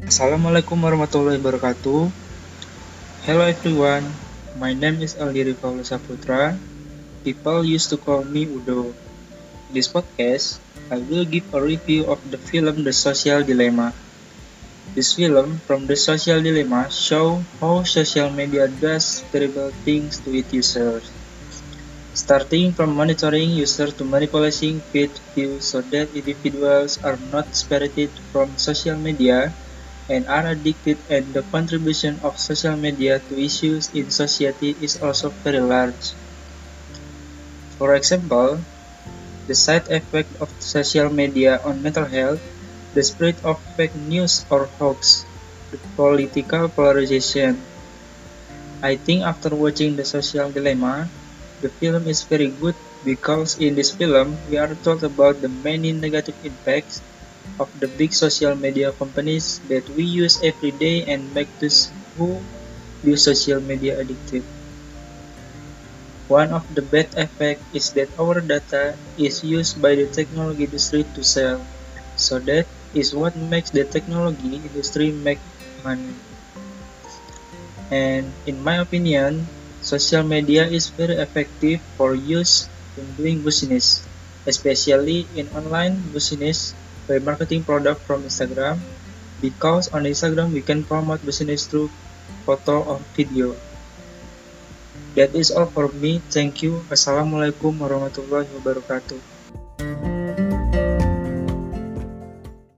Assalamualaikum warahmatullahi wabarakatuh. Hello everyone, my name is Aldi Rivaldo Saputra. People used to call me Udo. In this podcast, I will give a review of the film The Social Dilemma. This film from The Social Dilemma show how social media does terrible things to its users. Starting from monitoring users to manipulating feed views so that individuals are not separated from social media and are addicted, and the contribution of social media to issues in society is also very large. For example, the side effect of social media on mental health, the spread of fake news or hoax, the political polarization. I think after watching The Social Dilemma, the film is very good because in this film we are told about the many negative impacts of the big social media companies that we use every day and make those who use social media addictive. One of the bad effects is that our data is used by the technology industry to sell, so that is what makes the technology industry make money. And in my opinion, social media is very effective for use in doing business, especially in online business by marketing product from Instagram, because on Instagram we can promote business through photo or video. That is all for me. Thank you. Assalamualaikum warahmatullahi wabarakatuh.